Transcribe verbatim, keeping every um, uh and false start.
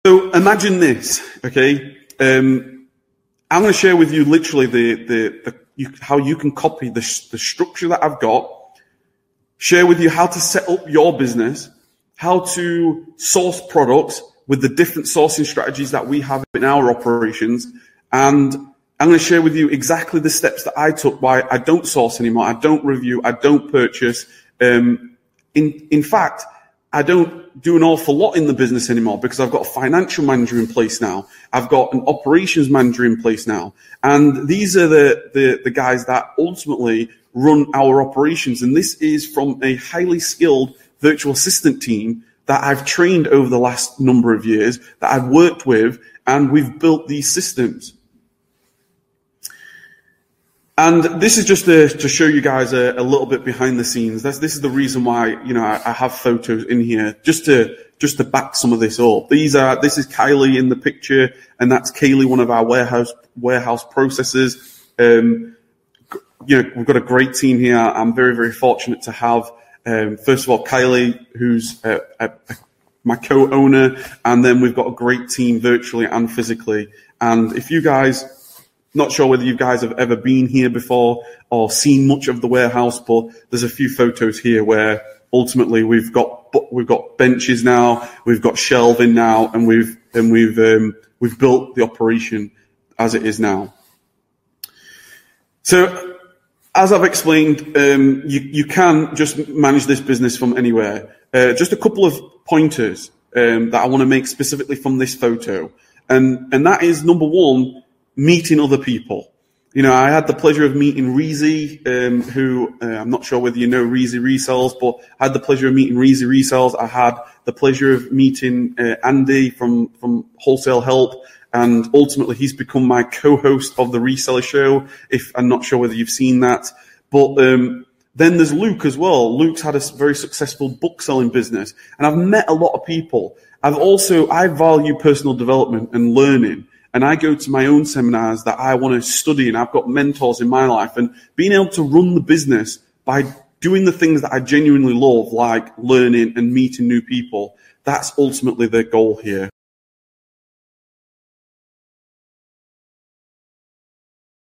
So imagine this, okay? Um, I'm going to share with you literally the, the, the you, how you can copy the, the structure that I've got, share with you how to set up your business, how to source products with the different sourcing strategies that we have in our operations. And I'm going to share with you exactly the steps that I took, why I don't source anymore. I don't review. I don't purchase. Um, in, in fact, I don't do an awful lot in the business anymore because I've got a financial manager in place now. I've got an operations manager in place now. And these are the, the, the guys that ultimately run our operations. And this is from a highly skilled virtual assistant team that I've trained over the last number of years, that I've worked with, and we've built these systems. And this is just to, to show you guys a, a little bit behind the scenes. That's, this is the reason why, you know, I, I have photos in here just to, just to back some of this up. These are, this is Kylie in the picture, and that's Kaylee, one of our warehouse, warehouse processors. Um, you know, we've got a great team here. I'm very, very fortunate to have, um, first of all, Kylie, who's a, a, a, my co-owner, and then we've got a great team virtually and physically. And if you guys, not sure whether you guys have ever been here before or seen much of the warehouse, but there's a few photos here where ultimately we've got we've got benches now, we've got shelving now, and we've and we've um, we've built the operation as it is now. So, as I've explained, um, you you can just manage this business from anywhere. Uh, just a couple of pointers um, that I want to make specifically from this photo, and and that is number one. Meeting other people. You know, I had the pleasure of meeting Reezy, um, who, uh, I'm not sure whether you know Reezy Resells, but I had the pleasure of meeting Reezy Resells. I had the pleasure of meeting uh, Andy from, from Wholesale Help, and ultimately he's become my co-host of the Reseller Show, if I'm not sure whether you've seen that. But um, then there's Luke as well. Luke's had a very successful book selling business, and I've met a lot of people. I've also, I value personal development and learning. And I go to my own seminars that I want to study, and I've got mentors in my life. And being able to run the business by doing the things that I genuinely love, like learning and meeting new people, that's ultimately the goal here.